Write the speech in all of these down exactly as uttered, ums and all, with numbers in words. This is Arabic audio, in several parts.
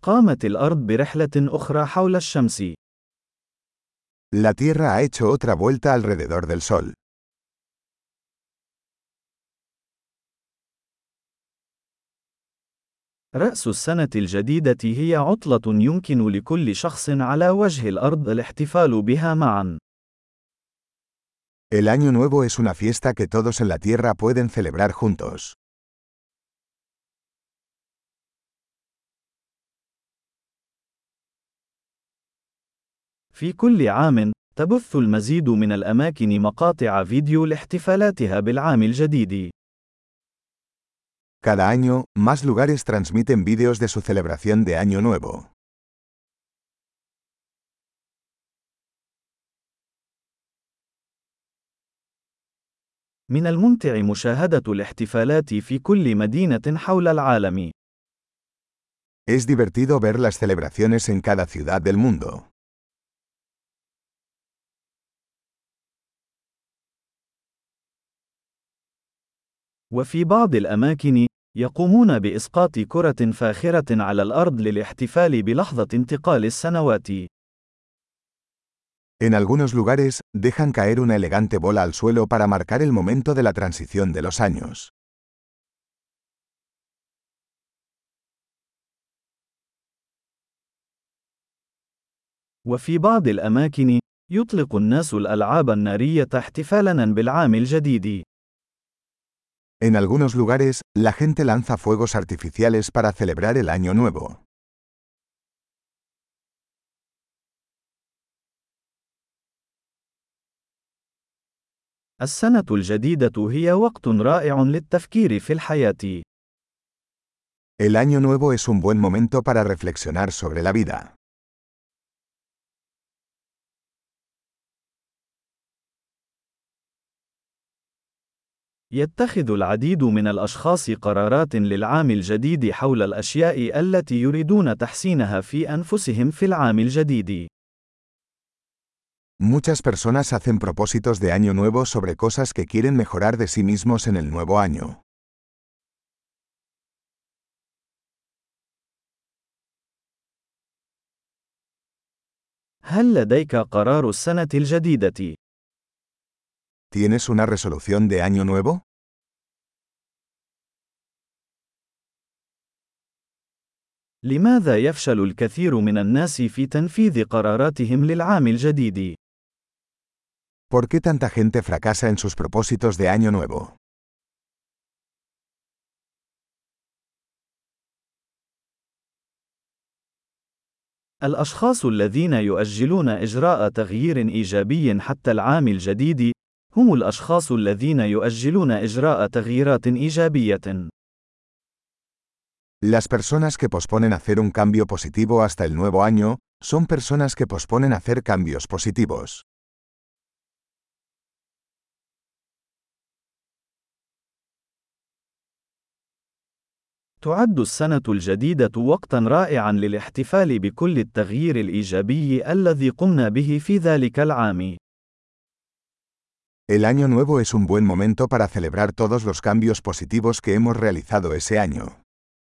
قامت الأرض برحلة أخرى حول الشمس. La Tierra ha hecho otra vuelta alrededor del Sol. رأس السنة الجديدة هي عطلة يمكن لكل شخص على وجه الأرض الاحتفال بها معا. El Año Nuevo es una fiesta que todos en la Tierra pueden celebrar juntos. في كل عام، تبث المزيد من الأماكن مقاطع فيديو لاحتفالاتها بالعام الجديد. Cada año, más lugares transmiten vídeos de su celebración de Año Nuevo. من الممتع مشاهدة الاحتفالات في كل مدينة حول العالم. Es divertido ver las celebraciones en cada ciudad del mundo. وفي بعض الأماكن، يقومون بإسقاط كرة فاخرة على الأرض للاحتفال بلحظة انتقال السنوات. En algunos lugares, dejan caer una elegante bola al suelo para marcar el momento de la transición de los años. وفي بعض الأماكن، يطلق الناس الألعاب النارية احتفالاً بالعام الجديد. En algunos lugares, la gente lanza fuegos artificiales para celebrar el Año Nuevo. السنة الجديدة هي وقت رائع للتفكير في الحياة. El Año Nuevo es un buen momento para reflexionar sobre la vida. يتخذ العديد من الأشخاص قرارات للعام الجديد حول الأشياء التي يريدون تحسينها في أنفسهم في العام الجديد. Muchas personas hacen propósitos de Año Nuevo sobre cosas que quieren mejorar de sí mismos en el nuevo año. هل لديك قرار السنة الجديدة؟ ¿Tienes una resolución de Año Nuevo? لماذا يفشل الكثير من الناس في تنفيذ قراراتهم للعام الجديد؟ ¿Por qué tanta gente fracasa en sus propósitos de Año Nuevo? الأشخاص الذين يؤجلون إجراء تغيير إيجابي حتى العام الجديد، هم الأشخاص الذين يؤجلون إجراء تغييرات إيجابية. Las personas que posponen hacer un cambio positivo hasta el nuevo año, son personas que posponen hacer cambios positivos. تعد السنة الجديدة وقتاً رائعاً للاحتفال بكل التغيير الإيجابي الذي قمنا به في ذلك العام. El Año Nuevo es un buen momento para celebrar todos los cambios positivos que hemos realizado ese año.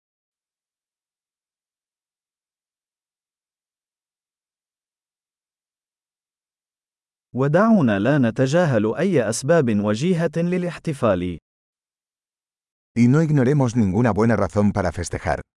ودعونا لا نتجاهل أي أسباب وجيهة للاحتفال. Y no ignoremos ninguna buena razón para festejar.